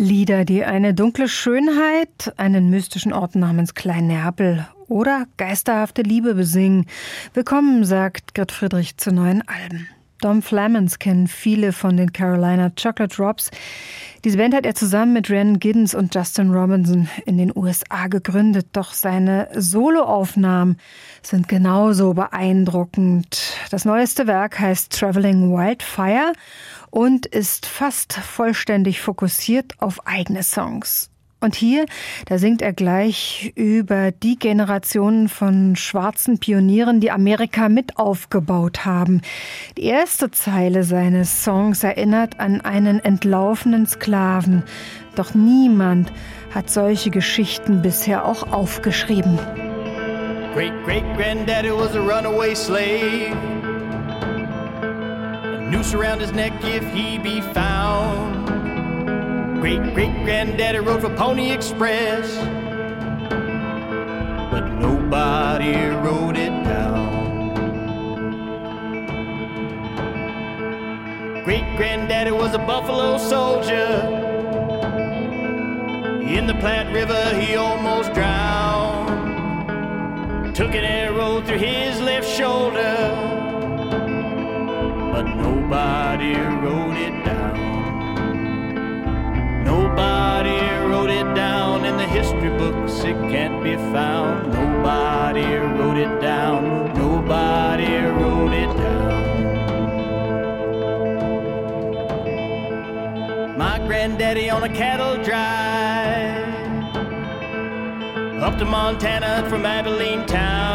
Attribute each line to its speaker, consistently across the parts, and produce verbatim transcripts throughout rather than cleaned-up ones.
Speaker 1: Lieder, die eine dunkle Schönheit, einen mystischen Ort namens Klein-Neapel oder geisterhafte Liebe besingen. Willkommen, sagt Gert Friedrich zu neuen Alben. Dom Flemons kennen viele von den Carolina Chocolate Drops. Diese Band hat er zusammen mit Rhiannon Giddens und Justin Robinson in den U S A gegründet. Doch seine Soloaufnahmen sind genauso beeindruckend. Das neueste Werk heißt Traveling Wildfire und ist fast vollständig fokussiert auf eigene Songs. Und hier, da singt er gleich über die Generationen von schwarzen Pionieren, die Amerika mit aufgebaut haben. Die erste Zeile seines Songs erinnert an einen entlaufenen Sklaven. Doch niemand hat solche Geschichten bisher auch aufgeschrieben.
Speaker 2: Great great granddaddy was a runaway slave. A noose around his neck if he be found. Great-great-granddaddy rode for Pony Express, but nobody wrote it down. Great-granddaddy was a Buffalo soldier. In the Platte River he almost drowned. Took an arrow through his left shoulder, but nobody wrote it down. Nobody wrote it down in the history books, it can't be found. Nobody wrote it down, nobody wrote it down. My granddaddy on a cattle drive up to Montana from Abilene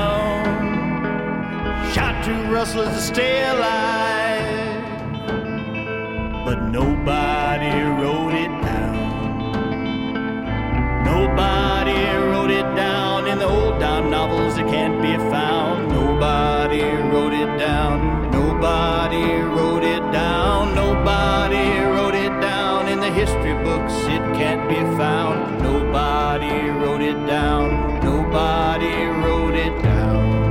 Speaker 2: town. Shot two rustlers to stay alive, but nobody wrote it down. Nobody wrote it down in the old dime novels, it can't be found. Nobody wrote it down, nobody wrote it down. Nobody wrote it down in the history books, it can't be found. Nobody wrote it down, nobody wrote it down.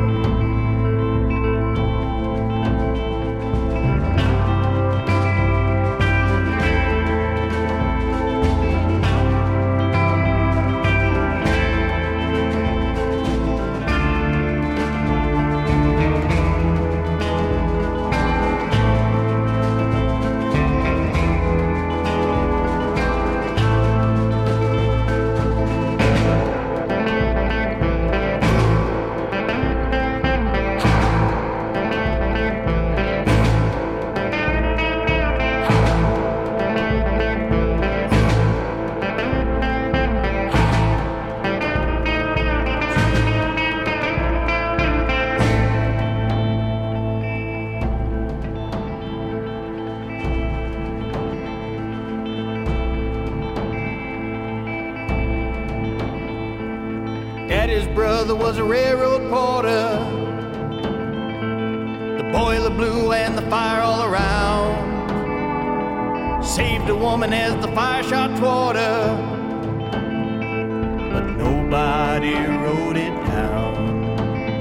Speaker 2: Was a railroad porter. The boiler blew and the fire all around. Saved a woman as the fire shot toward her, but nobody wrote it down.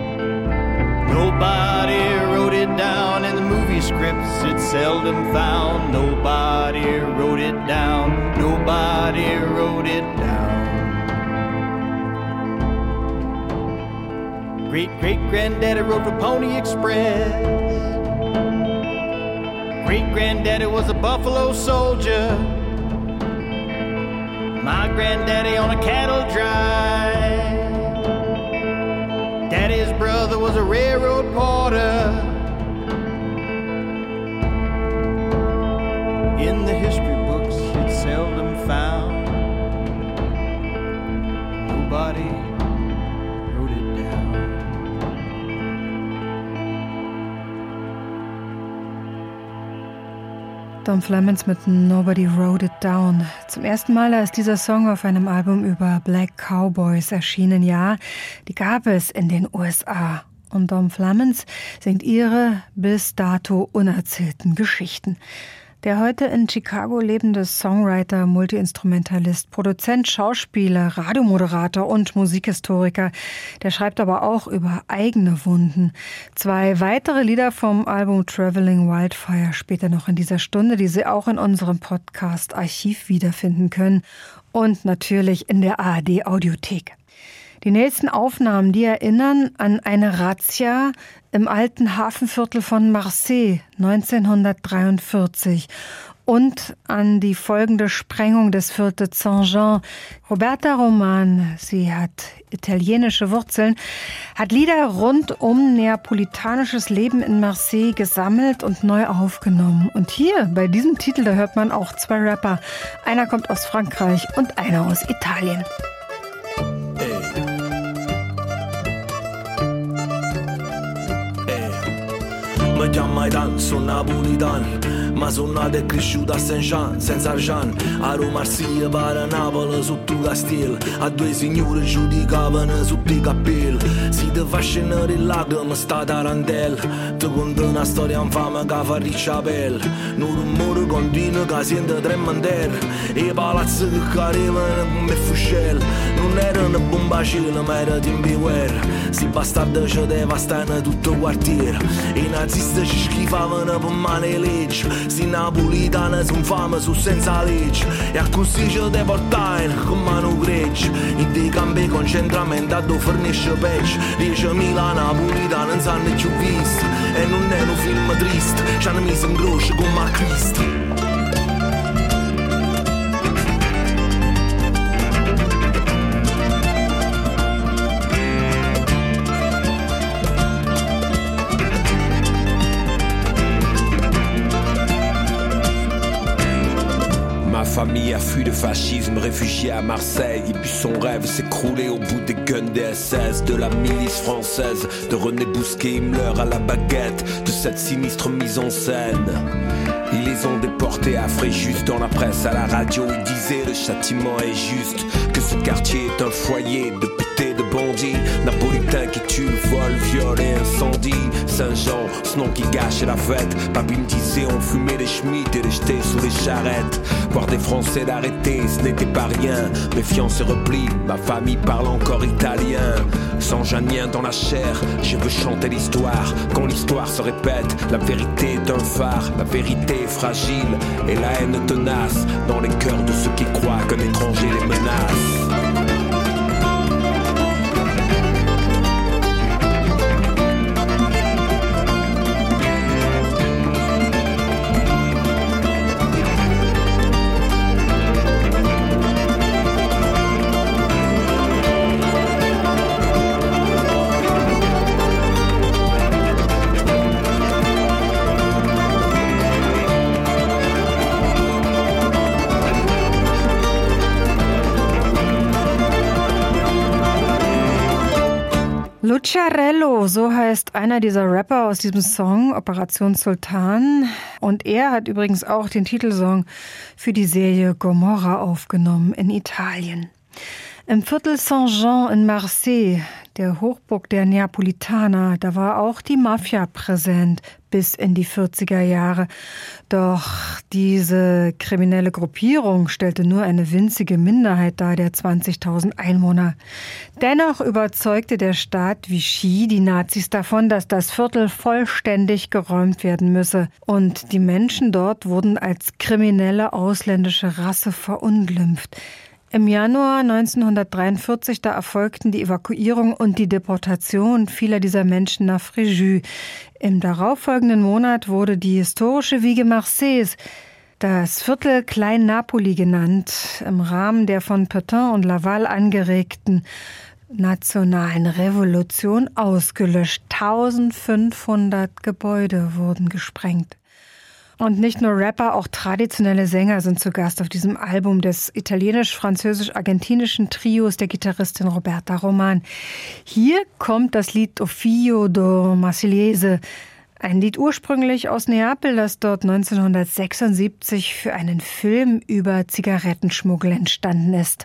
Speaker 2: Nobody wrote it down in the movie scripts, it's seldom found. Nobody wrote it down, nobody wrote it down. Great-great-granddaddy rode for Pony Express. Great-granddaddy was a Buffalo soldier. My granddaddy on a cattle drive. Daddy's brother was a railroad porter. In the history books, it's seldom found. Nobody
Speaker 1: Dom Flemons mit Nobody Wrote It Down. Zum ersten Mal ist dieser Song auf einem Album über Black Cowboys erschienen. Ja, die gab es in den U S A. Und Dom Flemons singt ihre bis dato unerzählten Geschichten. Der heute in Chicago lebende Songwriter, Multiinstrumentalist, Produzent, Schauspieler, Radiomoderator und Musikhistoriker, der schreibt aber auch über eigene Wunden. Zwei weitere Lieder vom Album Traveling Wildfire später noch in dieser Stunde, die Sie auch in unserem Podcast-Archiv wiederfinden können und natürlich in der A R D-Audiothek. Die nächsten Aufnahmen, die erinnern an eine Razzia im alten Hafenviertel von Marseille neunzehnhundertdreiundvierzig und an die folgende Sprengung des Viertels Saint-Jean. Roberta Roman, sie hat italienische Wurzeln, hat Lieder rund um neapolitanisches Leben in Marseille gesammelt und neu aufgenommen. Und hier, bei diesem Titel, da hört man auch zwei Rapper. Einer kommt aus Frankreich und einer aus Italien.
Speaker 3: Mi chiamo Maidan, sono napolitan, ma sono nato e cresciuto a Saint-Jean, senza argent. A Roma, Marsiglia, per Napoli, sotto il castello, a due signore giudicavano sotto i capelli. Si ti fa scendere in lacrime, sta tarantella, ti conta una storia infame che fa riccia pelle. Un rumore continuo che sente tremandere, e i palazzi che cadevano come fuscelli. Non erano bombe a cielo, ma era tempo di guerra. Si bastardi ci devastano tutto il quartiere, e i nazisti ci schifavano per male e legge. Si napolitane son fame su senza legge, e a così ci deportaino con mano gregge. In dei campi di concentramento a dove fornisce peggio. diecimila napolitane non sanno più visto, e non è un film triste, ci hanno messo in croce come a Cristo.
Speaker 4: Famille a fui le fascisme, réfugié à Marseille. Il but son rêve s'écrouler au bout des guns des S S, de la milice française, de René Bousquet, Himmler à la baguette, de cette sinistre mise en scène. Ils les ont déportés à Fréjus. Dans la presse, à la radio, ils disaient le châtiment est juste, que ce quartier est un foyer de putés, de bandits napolitains qui tuent, volent, violent et incendient. Saint-Jean, ce nom qui gâche la fête. Papy me disait on fumait les schmitts et les jetait sous les charrettes. Voir des Français l'arrêter, ce n'était pas rien. Méfiance et repli, ma famille parle encore italien. Sans janien dans la chair, je veux chanter l'histoire. Quand l'histoire se répète, la vérité est un phare. La vérité est fragile et la haine tenace dans les cœurs de ceux qui croient qu'un étranger les menace.
Speaker 1: Luciarello, so heißt einer dieser Rapper aus diesem Song, Operation Sultan. Und er hat übrigens auch den Titelsong für die Serie Gomorra aufgenommen in Italien. Im Viertel Saint-Jean in Marseille, der Hochburg der Neapolitaner, da war auch die Mafia präsent bis in die vierziger Jahre. Doch diese kriminelle Gruppierung stellte nur eine winzige Minderheit dar der zwanzigtausend Einwohner. Dennoch überzeugte der Staat Vichy die Nazis davon, dass das Viertel vollständig geräumt werden müsse. Und die Menschen dort wurden als kriminelle ausländische Rasse verunglimpft. Im Januar neunzehnhundertdreiundvierzig, da erfolgten die Evakuierung und die Deportation vieler dieser Menschen nach Fréjus. Im darauffolgenden Monat wurde die historische Wiege Marseilles, das Viertel Klein Napoli genannt, im Rahmen der von Pétain und Laval angeregten nationalen Revolution ausgelöscht. eintausendfünfhundert Gebäude wurden gesprengt. Und nicht nur Rapper, auch traditionelle Sänger sind zu Gast auf diesem Album des italienisch-französisch-argentinischen Trios der Gitarristin Roberta Roman. Hier kommt das Lied O Figlio do Marsigliese, ein Lied ursprünglich aus Neapel, das dort neunzehnhundertsechsundsiebzig für einen Film über Zigarettenschmuggel entstanden ist.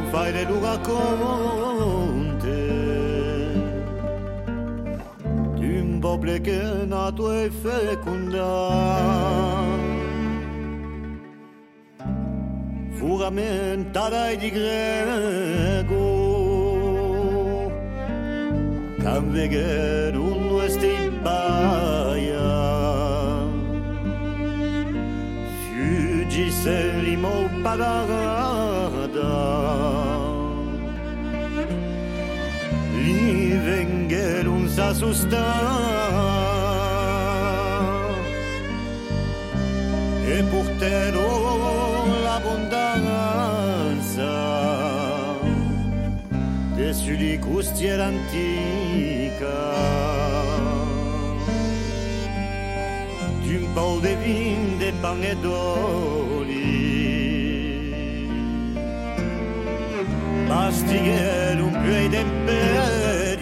Speaker 2: fai le tu racconti di un popolo che è nato e fecondato, furamentata di greco, che non è stipaia, fuggi se limo parada, li venga non sa sosta, e porterò l'abbondanza sulle costiere antica di un po' di vin, de pan e d'oli, pastigliere un più ai temperi.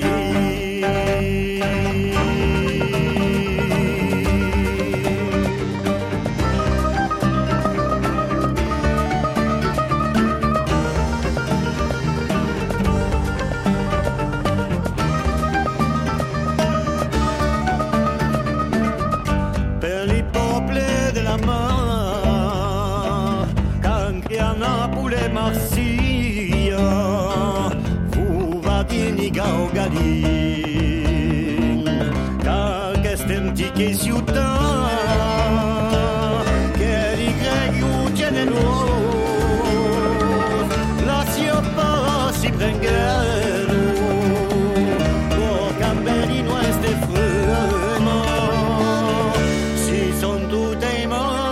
Speaker 2: Marsiglia, fu vadini gaugadin, car questem tique ciutat, che di grego generos, la siopa si prengero, por camberi nueste frema, si son tutte i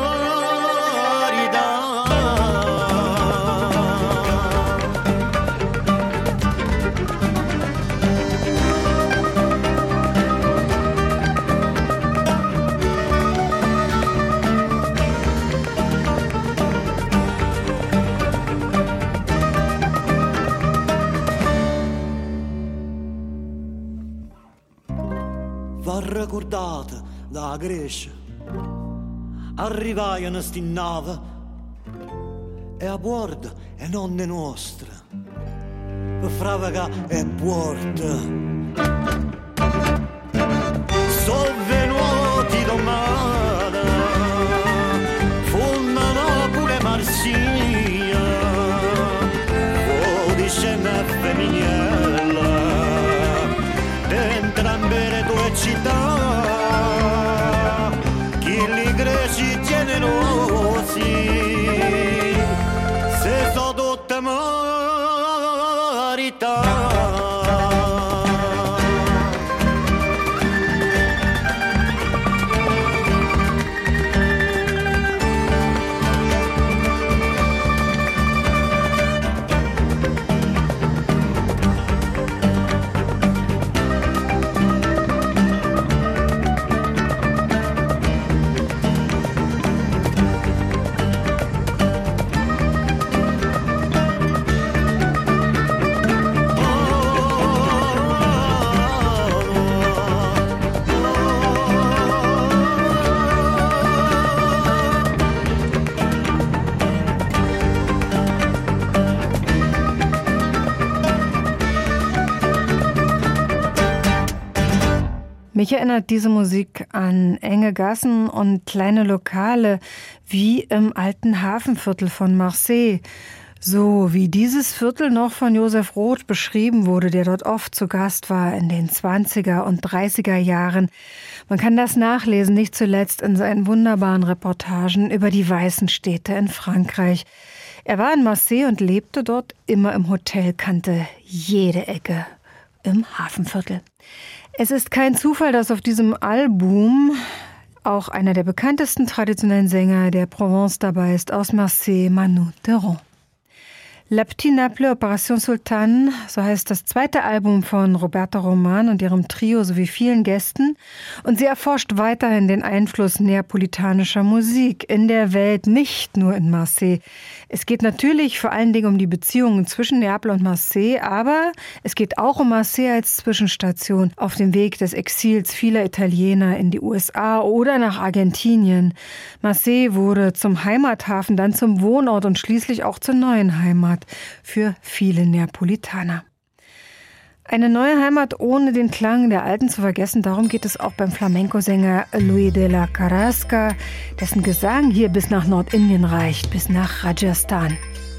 Speaker 2: ricordate da Grecia, arrivai a sti nave e a bordo e nonne nostre per fravaga e porta sono venuti domani fondano pure Marsiglia o di scena femminile entrambe le tue città greci generosi se so tutte marità.
Speaker 1: Mich erinnert diese Musik an enge Gassen und kleine Lokale wie im alten Hafenviertel von Marseille. So wie dieses Viertel noch von Josef Roth beschrieben wurde, der dort oft zu Gast war in den zwanziger und dreißiger Jahren. Man kann das nachlesen, nicht zuletzt in seinen wunderbaren Reportagen über die weißen Städte in Frankreich. Er war in Marseille und lebte dort immer im Hotel, kannte jede Ecke im Hafenviertel. Es ist kein Zufall, dass auf diesem Album auch einer der bekanntesten traditionellen Sänger der Provence dabei ist, aus Marseille, Manu Theron. La Petite Naples, Opération Sultane, so heißt das zweite Album von Roberta Roman und ihrem Trio sowie vielen Gästen. Und sie erforscht weiterhin den Einfluss neapolitanischer Musik in der Welt, nicht nur in Marseille. Es geht natürlich vor allen Dingen um die Beziehungen zwischen Neapel und Marseille, aber es geht auch um Marseille als Zwischenstation auf dem Weg des Exils vieler Italiener in die U S A oder nach Argentinien. Marseille wurde zum Heimathafen, dann zum Wohnort und schließlich auch zur neuen Heimat. Heimat für viele Neapolitaner. Eine neue Heimat ohne den Klang der alten zu vergessen, darum geht es auch beim Flamenco-Sänger Luis de la Carrasca, dessen Gesang hier bis nach Nordindien reicht, bis nach Rajasthan.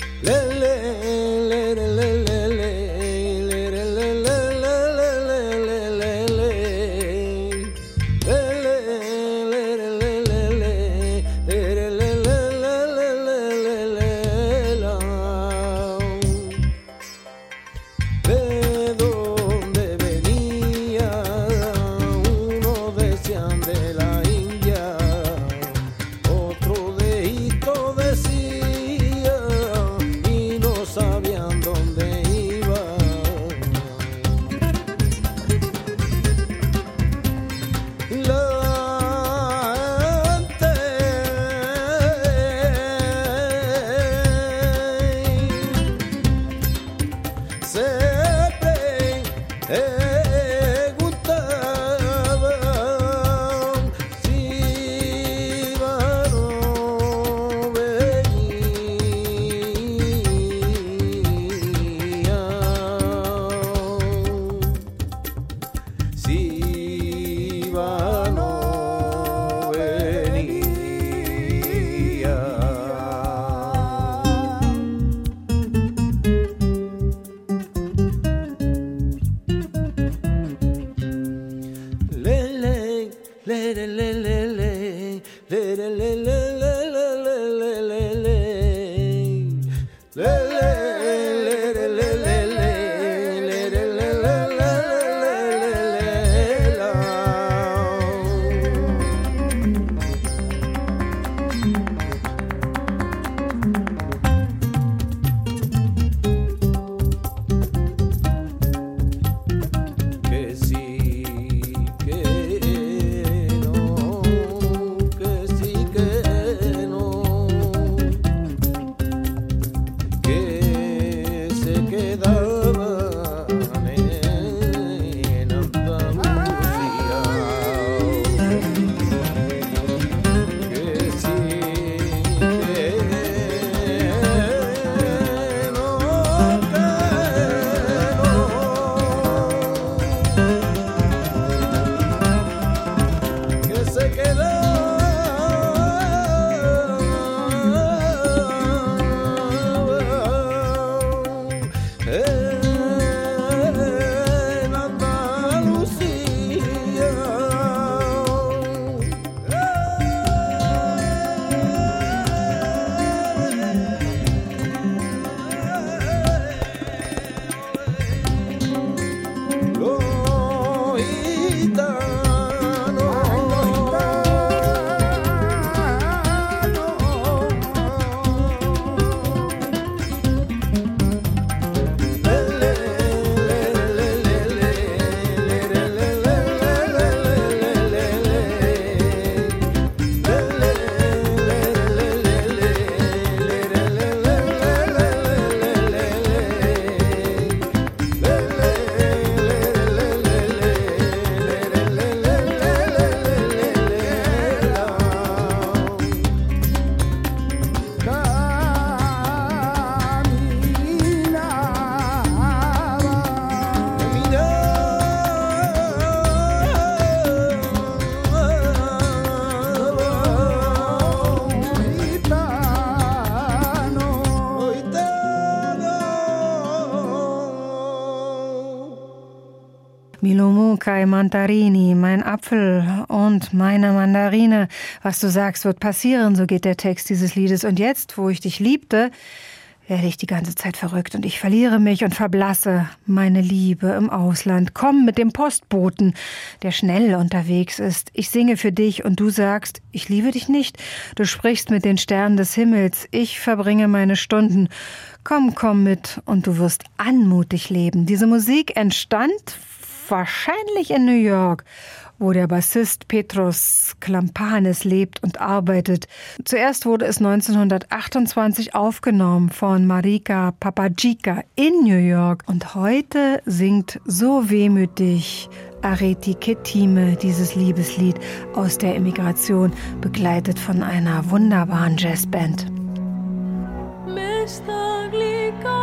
Speaker 1: Milumukai Mandarini, mein Apfel und meine Mandarine. Was du sagst, wird passieren, so geht der Text dieses Liedes. Und jetzt, wo ich dich liebte, werde ich die ganze Zeit verrückt und ich verliere mich und verblasse meine Liebe im Ausland. Komm mit dem Postboten, der schnell unterwegs ist. Ich singe für dich und du sagst, ich liebe dich nicht. Du sprichst mit den Sternen des Himmels. Ich verbringe meine Stunden. Komm, komm mit und du wirst anmutig leben. Diese Musik entstand wahrscheinlich in New York, wo der Bassist Petros Klampanis lebt und arbeitet. Zuerst wurde es neunzehnhundertachtundzwanzig aufgenommen von Marika Papagica in New York. Und heute singt so wehmütig Areti Ketime dieses Liebeslied aus der Emigration, begleitet von einer wunderbaren Jazzband.
Speaker 5: Me está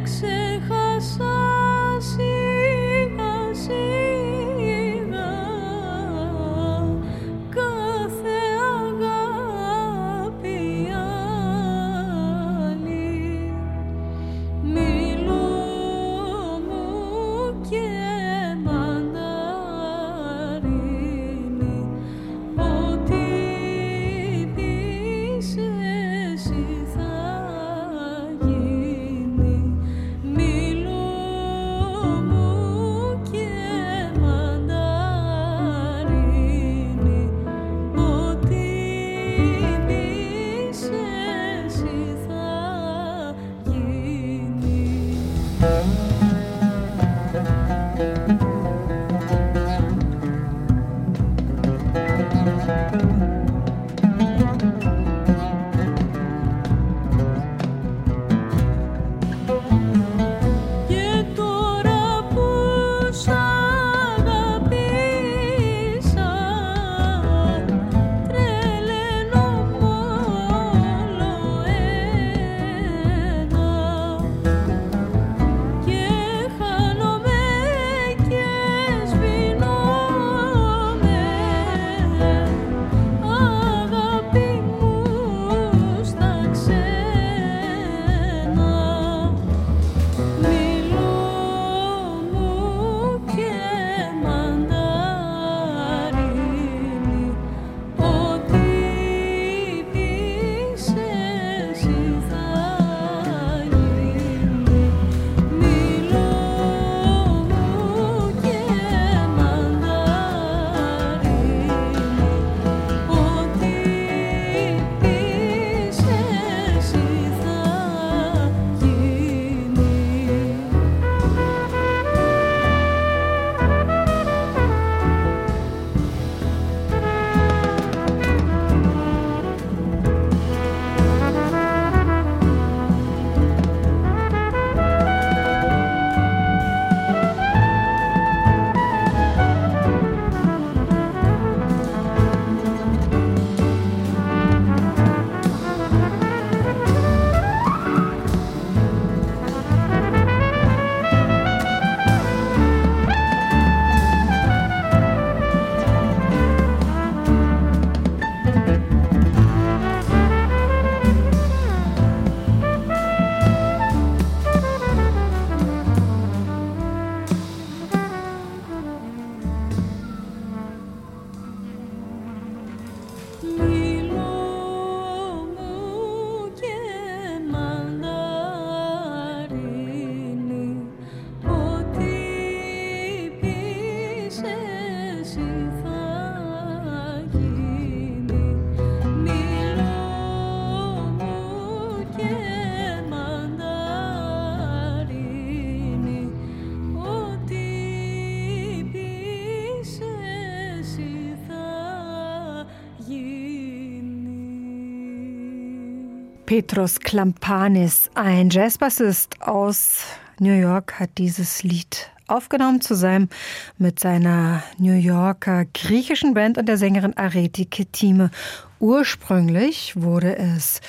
Speaker 1: Petros Klampanis, ein Jazzbassist aus New York, hat dieses Lied aufgenommen zusammen mit seiner New Yorker griechischen Band und der Sängerin Areti Ketime. Ursprünglich wurde es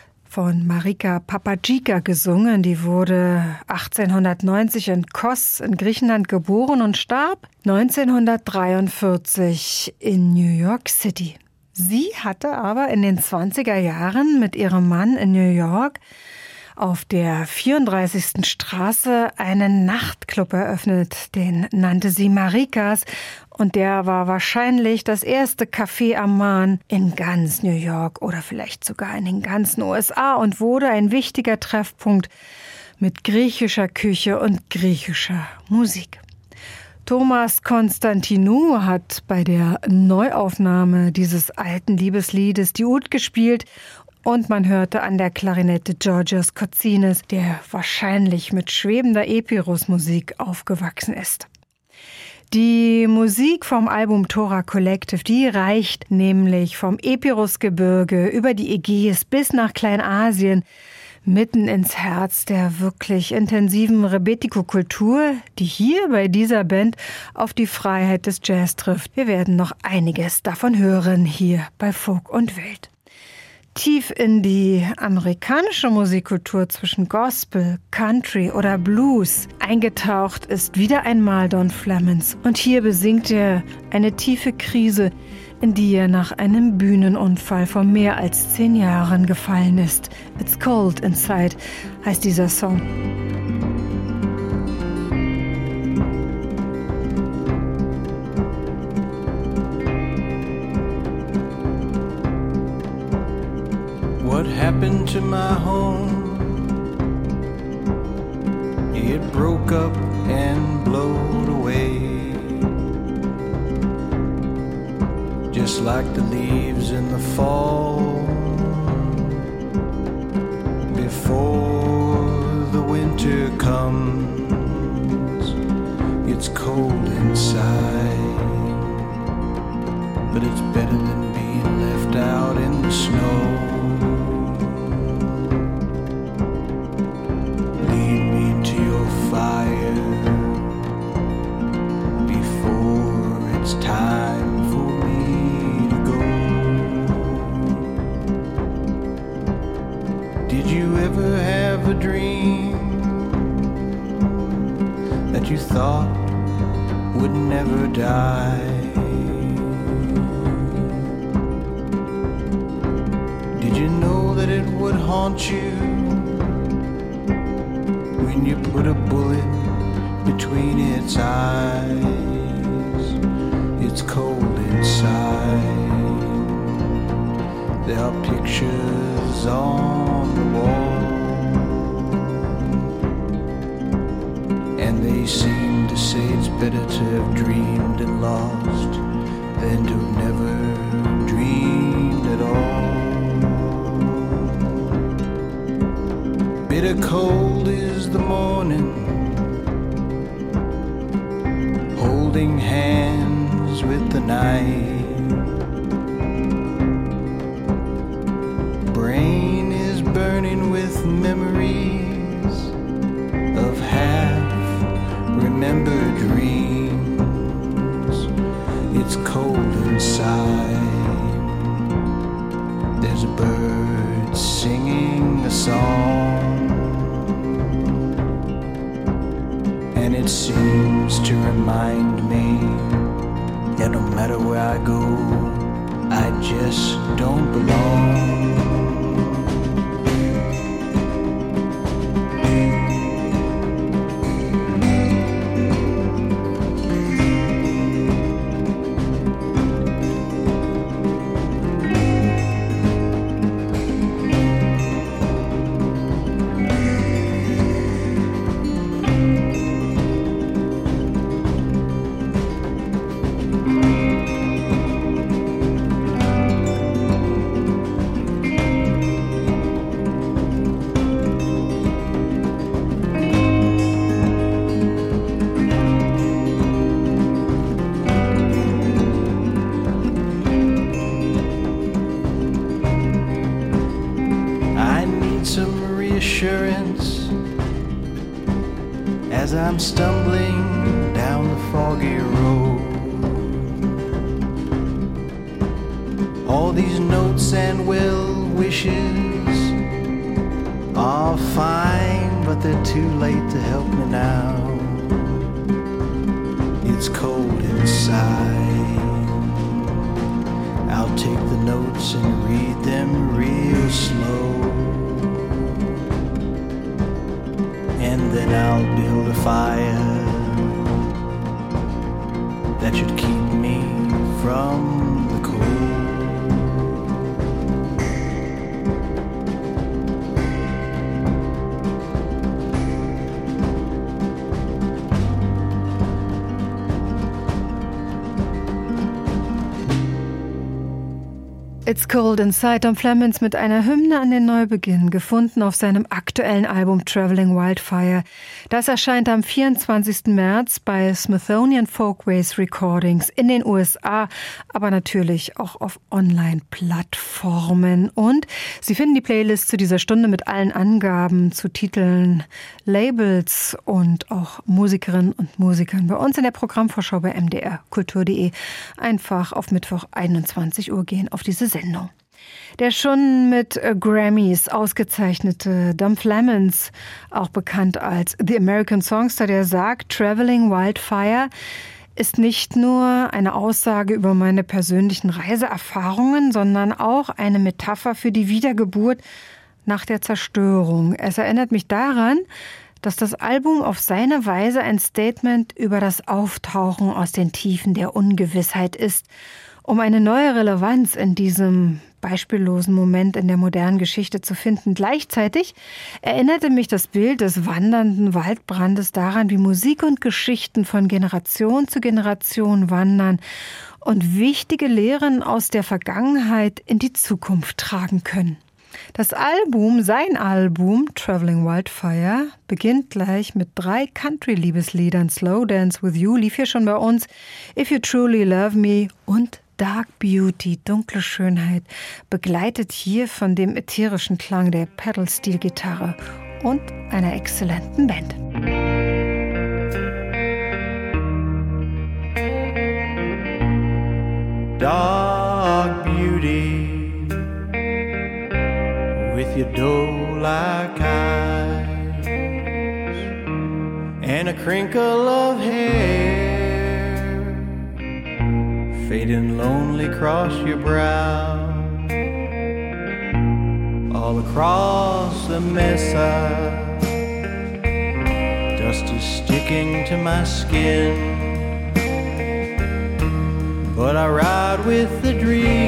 Speaker 1: von Marika Papagika gesungen. Die wurde achtzehnhundertneunzig in Kos in Griechenland geboren und starb neunzehnhundertdreiundvierzig in New York City. Sie hatte aber in den zwanziger Jahren mit ihrem Mann in New York auf der vierunddreißigsten Straße einen Nachtclub eröffnet. Den nannte sie Marikas und der war wahrscheinlich das erste Café am Marne in ganz New York oder vielleicht sogar in den ganzen U S A und wurde ein wichtiger Treffpunkt mit griechischer Küche und griechischer Musik. Thomas Konstantinou hat bei der Neuaufnahme dieses alten Liebesliedes die Ud gespielt und man hörte an der Klarinette Georgios Kotsinis, der wahrscheinlich mit schwebender Epirus-Musik aufgewachsen ist. Die Musik vom Album Tora Collective, die reicht nämlich vom Epirusgebirge über die Ägäis bis nach Kleinasien, mitten ins Herz der wirklich intensiven Rebetiko-Kultur, die hier bei dieser Band auf die Freiheit des Jazz trifft. Wir werden noch einiges davon hören hier bei Folk und Welt. Tief in die amerikanische Musikkultur zwischen Gospel, Country oder Blues eingetaucht ist wieder einmal Don Flemons. Und hier besingt er eine tiefe Krise, in die er nach einem Bühnenunfall vor mehr als zehn Jahren gefallen ist. It's Cold Inside heißt dieser Song.
Speaker 2: What happened to my home? It broke up and blowed away, just like the leaves in the fall before the winter comes. It's cold inside, but it's better than being left out in the snow. Time for me to go. Did you ever have a dream that you thought would never die? Did you know that it would haunt you when you put a bullet between its eyes? It's cold inside. There are pictures on the wall, and they seem to say it's better to have dreamed and lost than to have never dreamed at all. Bitter cold is the morning, holding hands with the night. Brain is burning with memories of half-remembered dreams. It's cold inside. There's a bird singing a song, and it seems to remind me that no matter where I go, I just don't belong. As I'm stumbling down the foggy road, all these notes and well wishes are fine, but they're too late to help me now. It's cold inside. I'll take the notes and read them real slow, and then I'll build a fire that should keep me from the cold.
Speaker 1: It's Cold Inside, Don Flemons mit einer Hymne an den Neubeginn, gefunden auf seinem aktuellen Album Traveling Wildfire. Das erscheint am vierundzwanzigsten März bei Smithsonian Folkways Recordings in den U S A, aber natürlich auch auf Online-Plattformen. Und Sie finden die Playlist zu dieser Stunde mit allen Angaben zu Titeln, Labels und auch Musikerinnen und Musikern bei uns in der Programmvorschau bei m d r kultur punkt d e. Einfach auf Mittwoch einundzwanzig Uhr gehen auf diese Sendung. Der schon mit Grammys ausgezeichnete Dom Flemons, auch bekannt als The American Songster, der sagt, Traveling Wildfire ist nicht nur eine Aussage über meine persönlichen Reiseerfahrungen, sondern auch eine Metapher für die Wiedergeburt nach der Zerstörung. Es erinnert mich daran, dass das Album auf seine Weise ein Statement über das Auftauchen aus den Tiefen der Ungewissheit ist, um eine neue Relevanz in diesem beispiellosen Moment in der modernen Geschichte zu finden. Gleichzeitig erinnerte mich das Bild des wandernden Waldbrandes daran, wie Musik und Geschichten von Generation zu Generation wandern und wichtige Lehren aus der Vergangenheit in die Zukunft tragen können. Das Album, sein Album, Traveling Wildfire, beginnt gleich mit drei Country-Liebesliedern. Slow Dance With You lief hier schon bei uns, If You Truly Love Me und Dark Beauty, dunkle Schönheit, begleitet hier von dem ätherischen Klang der Pedal-Steel-Gitarre und einer exzellenten Band.
Speaker 2: Dark Beauty, with your doe-like eyes and a crinkle of hair fading lonely across your brow. All across the mesa, dust is sticking to my skin, but I ride with the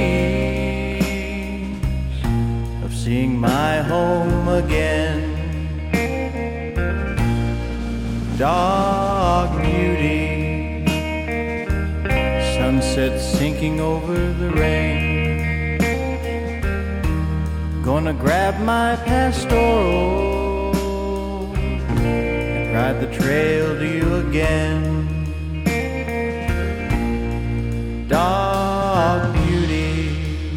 Speaker 2: dreams of seeing my home again. Dark beauty, sunset sinking over the rain. Gonna grab my pastoral and ride the trail to you again. Dark beauty,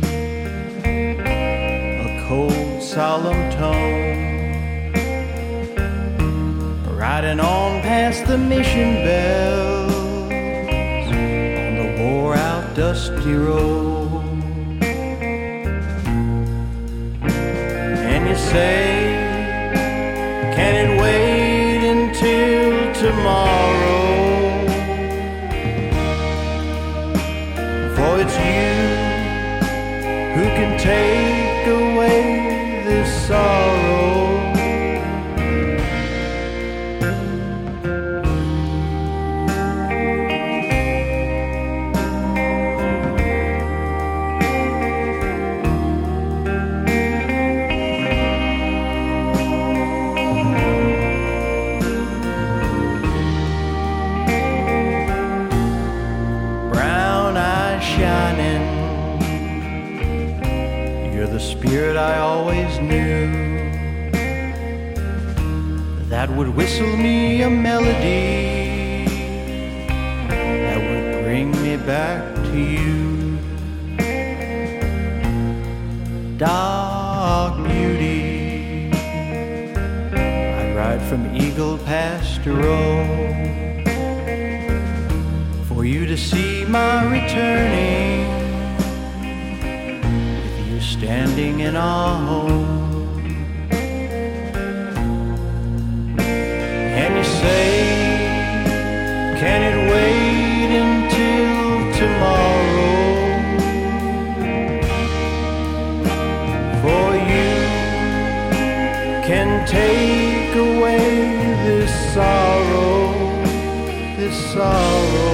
Speaker 2: a cold solemn tone, riding on past the mission bells on the wore out dusty road. And you say, can it wait until tomorrow? For it's you who can take away this sorrow. Spirit I always knew that would whistle me a melody that would bring me back to you. Dark beauty, I'd ride from Eagle Pass to Row for you to see my returning, standing in our home. And you say, can it wait until tomorrow? For you can take away this sorrow, this sorrow.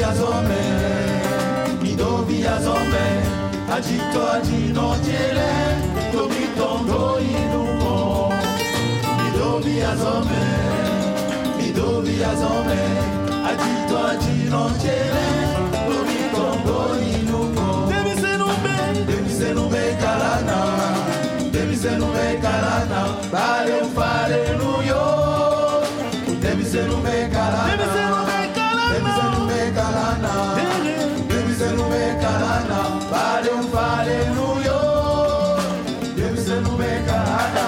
Speaker 5: azome, midovi azome, agito agino tiele, tomitondo inumo. Midovi azome, midovi azome, agito agino tiele, tomitondo inumo. Demise nube, demise nube kalana, demise nube kalana, bale ufale nuyo. Demise nube kalana, demise nube kalana, demise nube kalana, demise nube kalana, bale ufale nuyo. Demise nube kalana.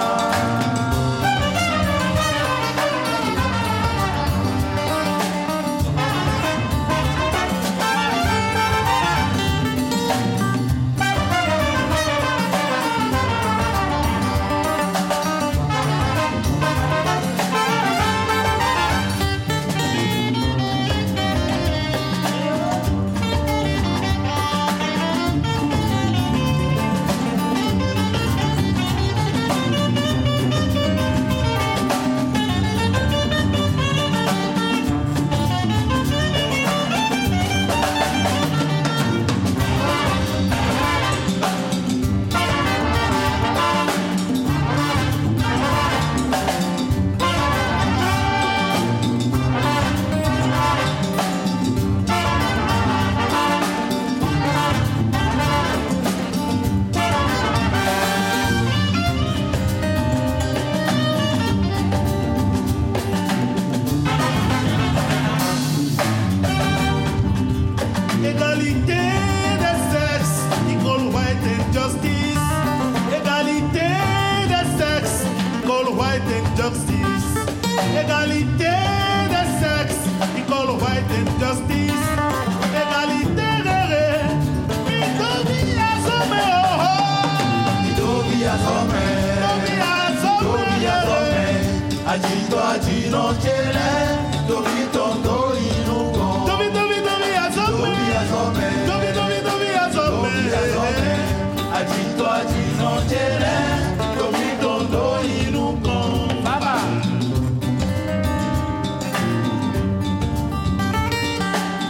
Speaker 5: Agito agino chele, dobi tondo inugo. Dobi dobi dobi azome, dobi azome, dobi dobi dobi azome, dobi azome. Agito agino chele, dobi tondo inugo. Baba.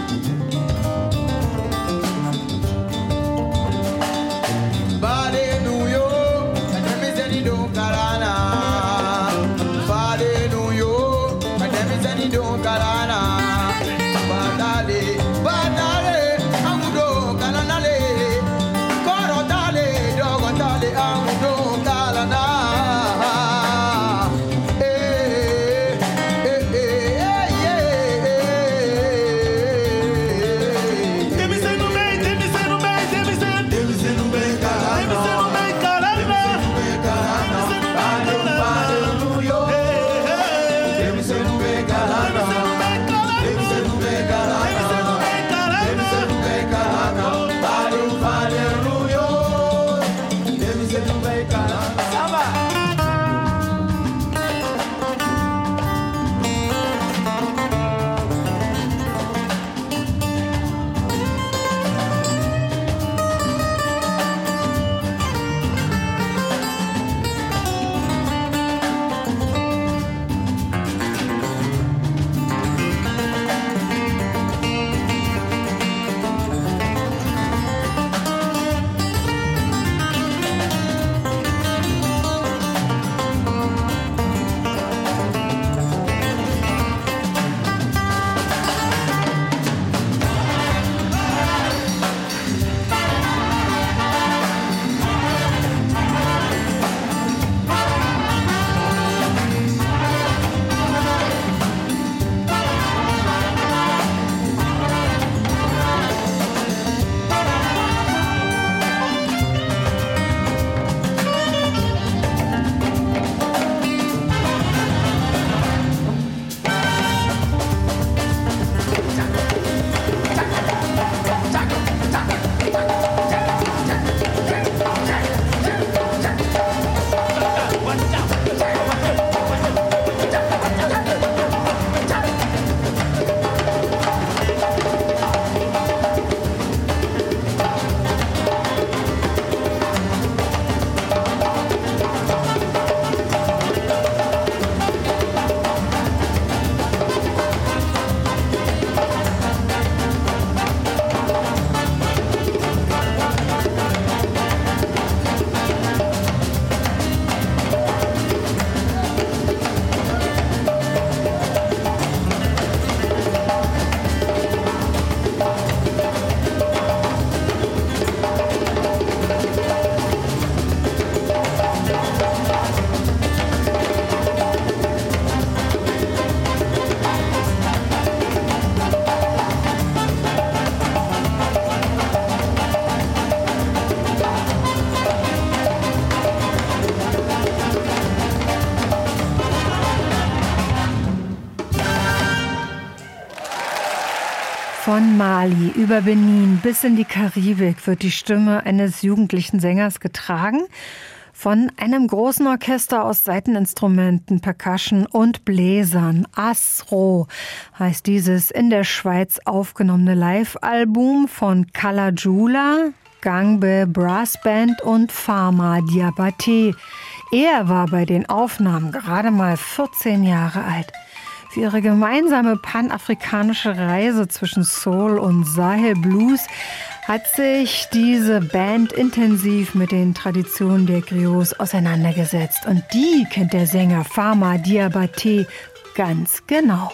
Speaker 1: Von Mali über Benin bis in die Karibik wird die Stimme eines jugendlichen Sängers getragen. Von einem großen Orchester aus Saiteninstrumenten, Percussion und Bläsern. Asro heißt dieses in der Schweiz aufgenommene Live-Album von Kala Jula, Gangbe Brass Band und Fama Diabaté. Er war bei den Aufnahmen gerade mal vierzehn Jahre alt. Für ihre gemeinsame panafrikanische Reise zwischen Soul und Sahel Blues hat sich diese Band intensiv mit den Traditionen der Griots auseinandergesetzt. Und die kennt der Sänger Fama Diabaté ganz genau.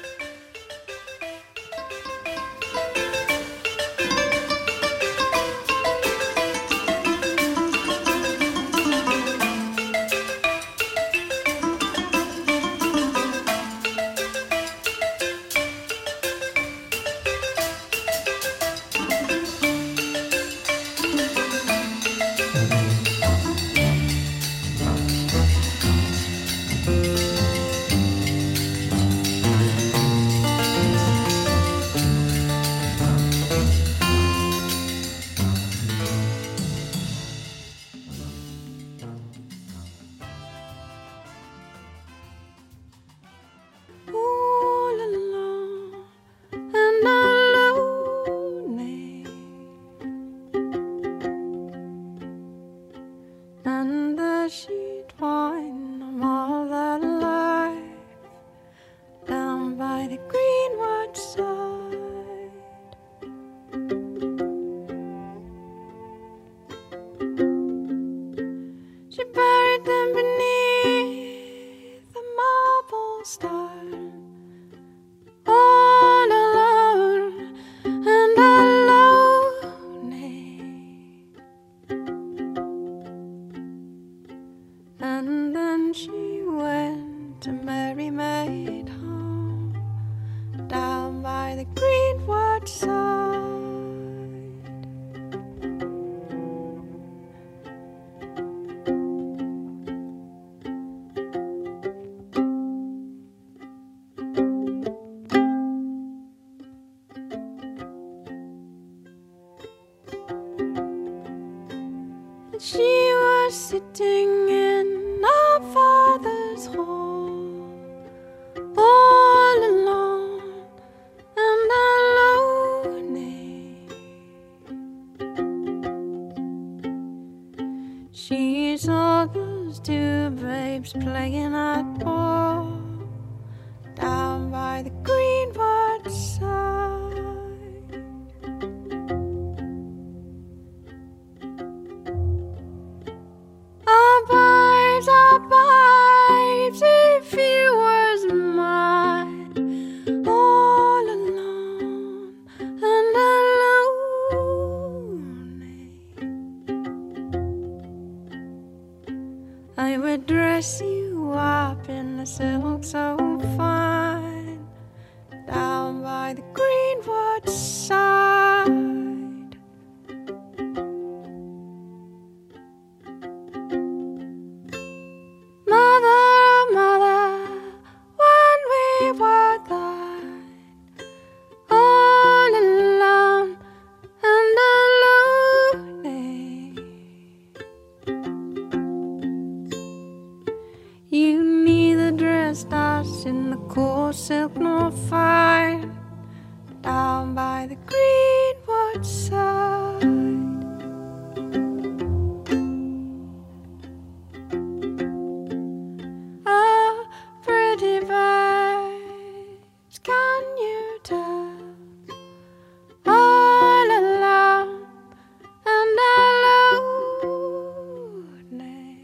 Speaker 6: She was sitting in our father's hall, all alone and lonely. She saw those two babes playing at ball down by the greenwood side. Our babes, if you was mine, all alone and alone, I would dress you up in a silk so fine, down by the greenwood side. In the cool silk nor fine, down by the greenwood side. Ah, pretty birds, can you tell? All alone and alone,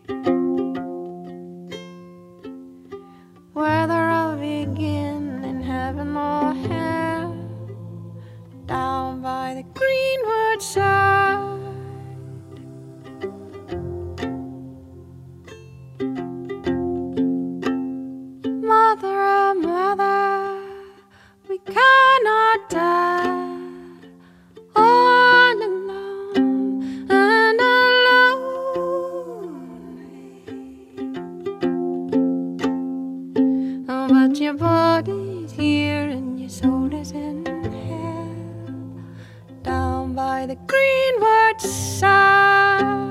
Speaker 6: whether I'll begin in heaven or hell, down by the greenwood side. Mother, oh mother, we cannot die, all alone and alone. Oh, but your body's here and your soul is in hell. by the greenwood side.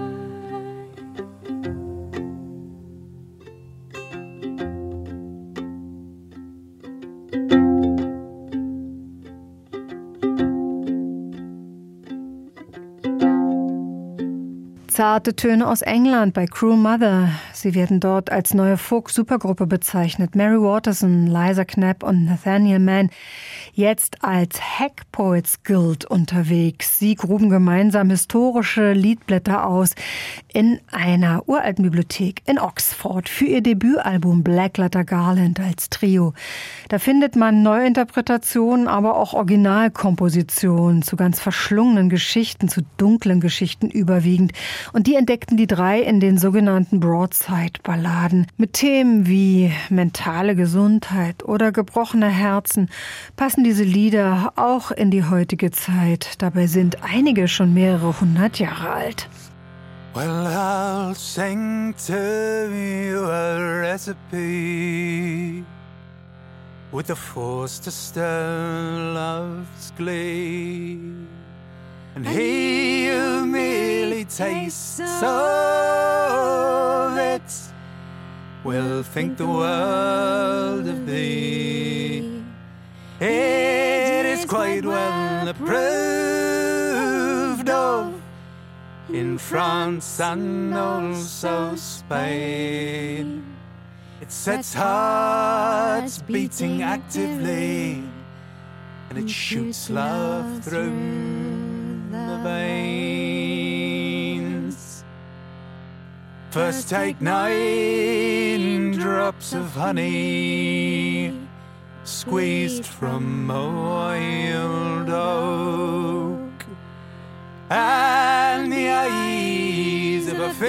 Speaker 1: Zarte Töne aus England bei Cruel Mother. Sie werden dort als neue Folk-Supergruppe bezeichnet. Mary Waterson, Liza Knapp und Nathaniel Mann. Jetzt als Hack Poets Guild unterwegs. Sie gruben gemeinsam historische Liedblätter aus in einer uralten Bibliothek in Oxford für ihr Debütalbum Black Letter Garland als Trio. Da findet man Neuinterpretationen, aber auch Originalkompositionen zu ganz verschlungenen Geschichten, zu dunklen Geschichten überwiegend. Und die entdeckten die drei in den sogenannten Broadside-Balladen mit Themen wie mentale Gesundheit oder gebrochene Herzen. Passen diese Lieder auch in die heutige Zeit. Dabei sind einige schon mehrere hundert Jahre alt.
Speaker 5: Well, I'll sing to you a recipe with the force to stir love's glee. And he who merely tastes of it will think the world of thee. It is quite well approved of in France and also Spain. It sets hearts beating actively, and it shoots love through the veins. First take nine drops of honey, squeezed from a wild oak, and the eyes of a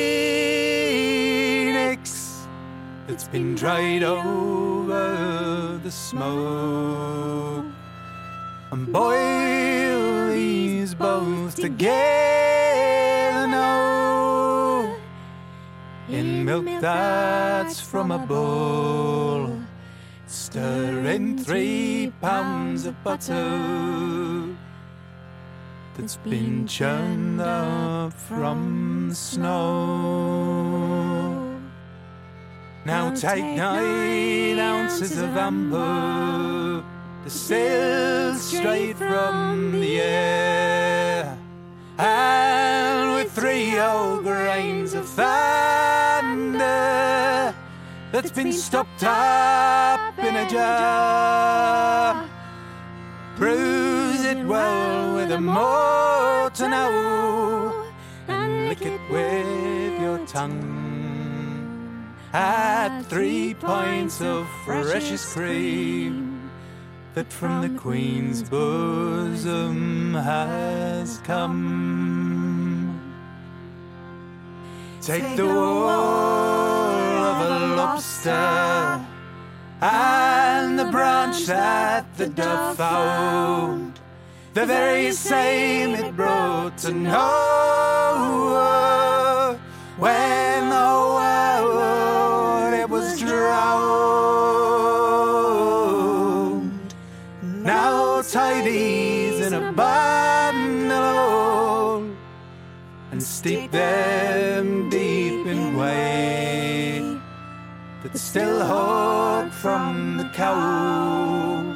Speaker 5: phoenix that's been dried over the smoke. And boil these both together now in milk that's from a bowl. Stir in three pounds of butter that's been churned up from the snow. Now take nine ounces of amber, distilled straight from the air, and with three whole grains of thunder that's been stopped up in a jar. Bruise it well with a mortar now, and lick it with your tongue. Add three pints of freshest cream that from the Queen's bosom has come. Take the wool of a lobster and the branch that the dove found, the very same it brought to Noah when the world it was drowned. Now tie these in a bundle and steep them deep in whey that's still hot from the cow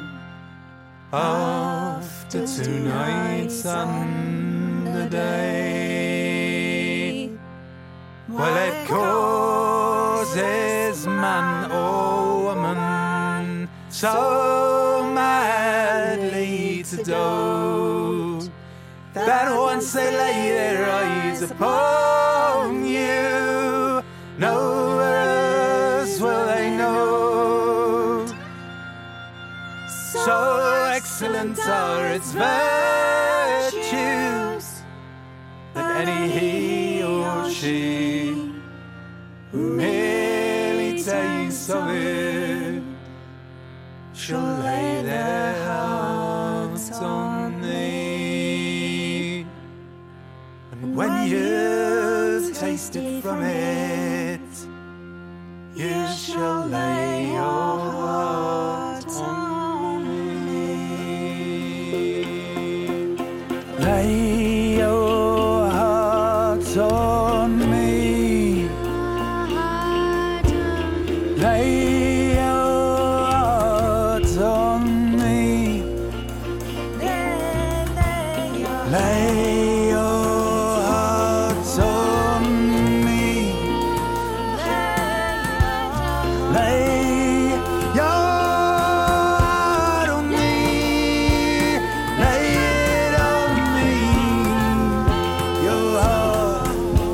Speaker 5: after two nights and a day. Well, it causes man or woman so madly to dote that once they lay their eyes upon you, nowhere else will they know. So excellent are its virtues that any he or she who merely tastes of it shall lay their hearts on thee. And when you've tasted from it, you shall lay your heart on me.
Speaker 3: Lay your heart on me. Lay your heart on me. Lay your heart on me. Lay your heart on me. Lay it on me. Your heart.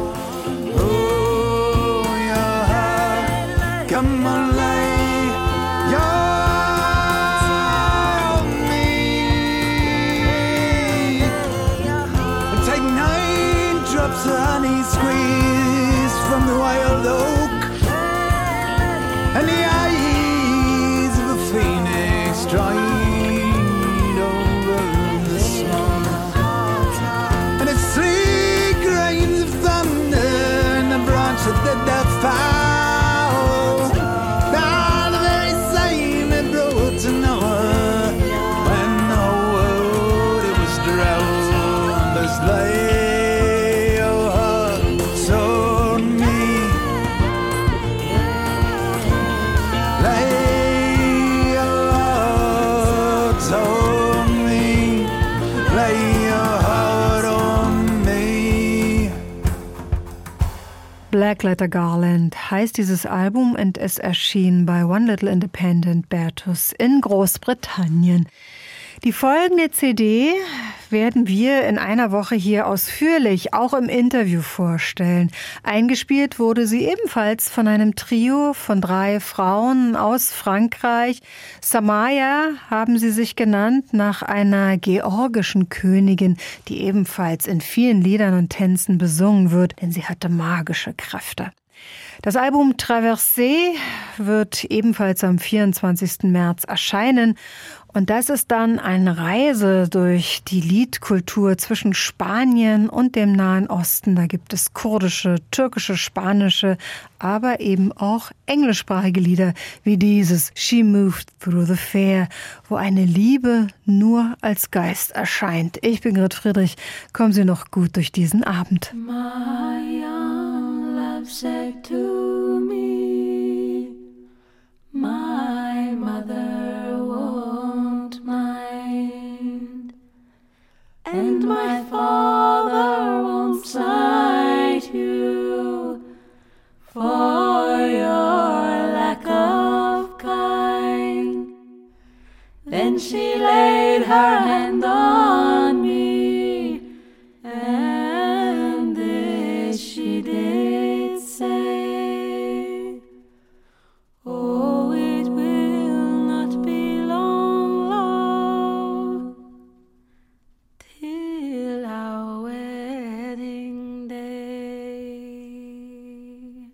Speaker 3: Oh, your heart. Come on, lay your heart on me. And take nine drops of honey squeezed from the wild oak. And the eyes of a phoenix dried over the snow. And it's three grains of thunder and a branch of the death fowl. Now the very same it brought to Noah when the whole world it was drowned. There's lay your heart on me. Lay your heart on me. Lay your heart on me.
Speaker 1: Blackletter Garland heißt dieses Album und es erschien bei One Little Independent Bertus in Großbritannien. Die folgende C D werden wir in einer Woche hier ausführlich auch im Interview vorstellen. Eingespielt wurde sie ebenfalls von einem Trio von drei Frauen aus Frankreich. Samaya haben sie sich genannt, nach einer georgischen Königin, die ebenfalls in vielen Liedern und Tänzen besungen wird, denn sie hatte magische Kräfte. Das Album Traversée wird ebenfalls am vierundzwanzigsten März erscheinen. Und das ist dann eine Reise durch die Liedkultur zwischen Spanien und dem Nahen Osten. Da gibt es kurdische, türkische, spanische, aber eben auch englischsprachige Lieder wie dieses She Moved Through the Fair, wo eine Liebe nur als Geist erscheint. Ich bin Grit Friedrich. Kommen Sie noch gut durch diesen Abend.
Speaker 7: My young love said to me, my mother won't mind, and my father won't slight you for your lack of kind. Then she laid her hand on me, and this she did say, oh, it will not be long, love, till our wedding day.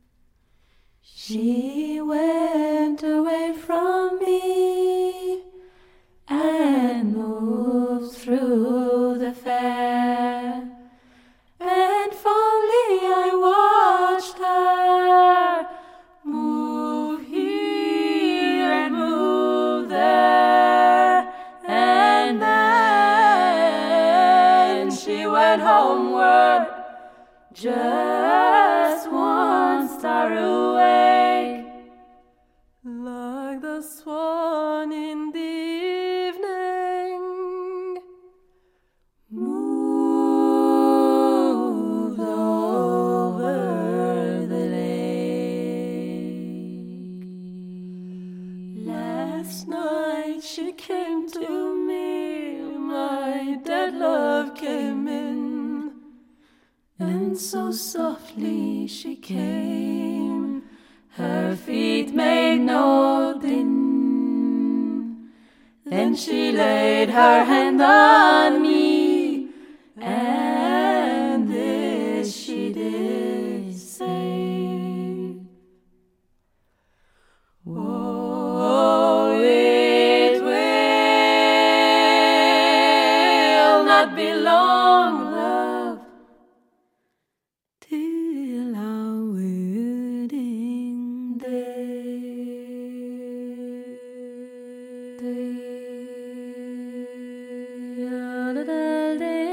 Speaker 7: She went away from me and moved through the fair, and fondly I watched her move here and move there, and then she went homeward, just one star awake, like the swan in the evening, moved over the lake. Last night she came to me, my dead love came in, and so softly she came, her feet made no din. Then she laid her hand on me, and this she did say, oh, it will not be long, love, till our wedding day.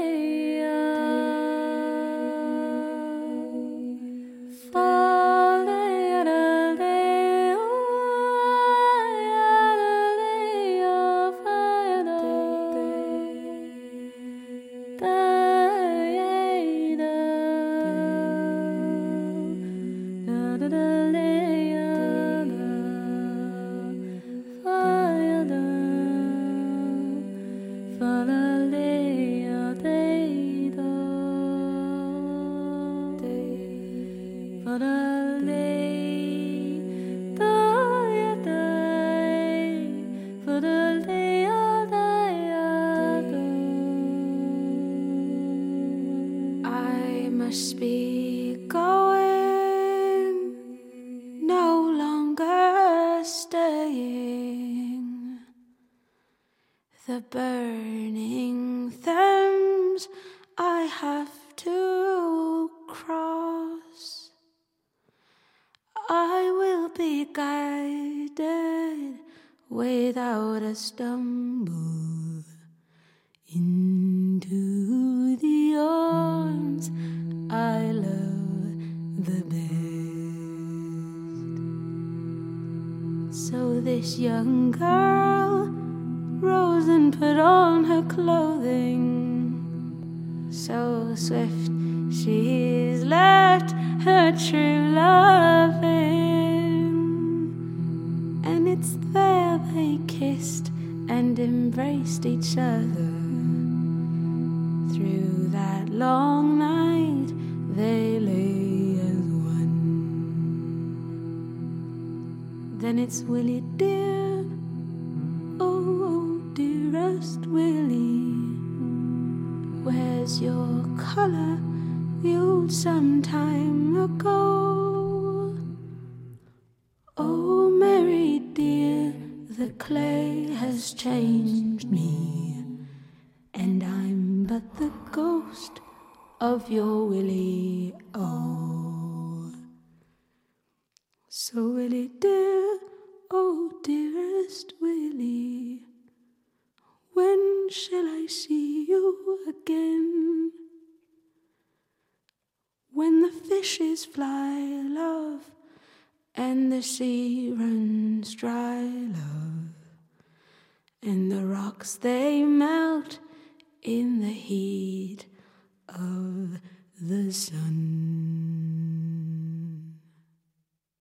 Speaker 6: must be going, no longer staying. The burning Thames I have to cross. I will be guided without a stumble into the arms I love the best. So this young girl rose and put on her clothing. So swift she's left her true loving, and it's there they kissed and embraced each other. Through that long night they lay as one. Then it's Willie dear, oh, oh dearest Willie, where's your color viewed some time ago? Oh Mary dear, the clay has changed me, and I'm but the ghost of your Willie, oh. So Willie dear, oh dearest Willie, when shall I see you again? When the fishes fly, love, and the sea runs dry, love, and the rocks they melt in the heat of the sun.